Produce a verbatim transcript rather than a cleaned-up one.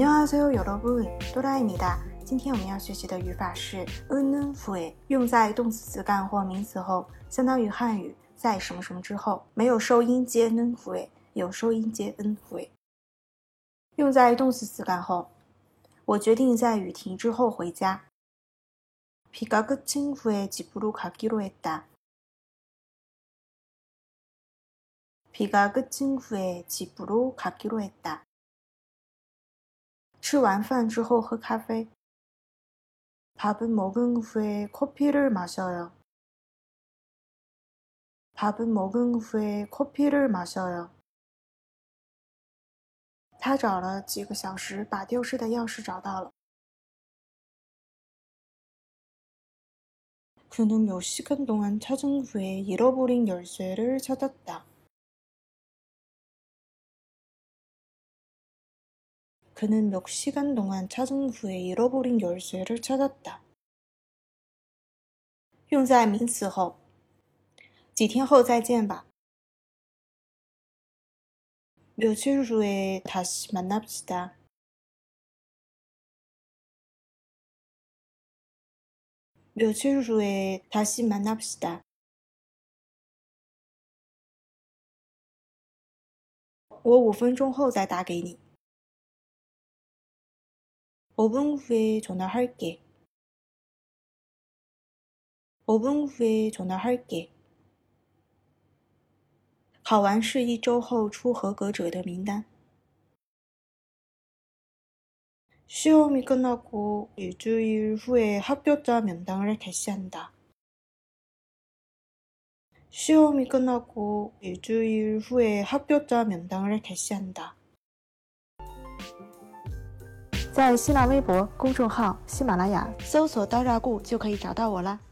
안녕하세요 여러분， 多拉입니다。今天我们要学习的语法是 은은 후에， 用在动词词干或名词后，相当于汉语在什么什么之后，没有收音接 는 후에， 有收音接 은 후에。 用在动词词干后，我决定在雨停之后回家。비가 그친 후에 집으로 가기로 했다. 비가 그친 후에 집으로 가기로 했다. 吃完饭之后喝咖啡。밥은 먹은 후에 커피를 마셔요. 밥은 먹은 후에 커피를 마셔요. 他找了几个小时把丢失的钥匙找到了。그는 몇 시간 동안 찾은 후에 잃어버린 열쇠를 찾았다. 그는 몇 시간 동안 찾은 후에 잃어버린 열쇠를 찾았다. 用在名词后，几天后再见吧。며칠 후에 다시 만납시다. 며칠 후에 다시 만납시다. 我五分钟后再打给你。오 분 후에 전화할게. 오 분 후에 전화할게. 考完试一周后出合格者的名单。시험이 끝나고 일주일 후에 합격자 명단을 게시한다. 시험이 끝나고 일주일 후에 합격자 명단을 게시한다. 在新浪微博公众号喜马拉雅搜索刀扎固就可以找到我啦。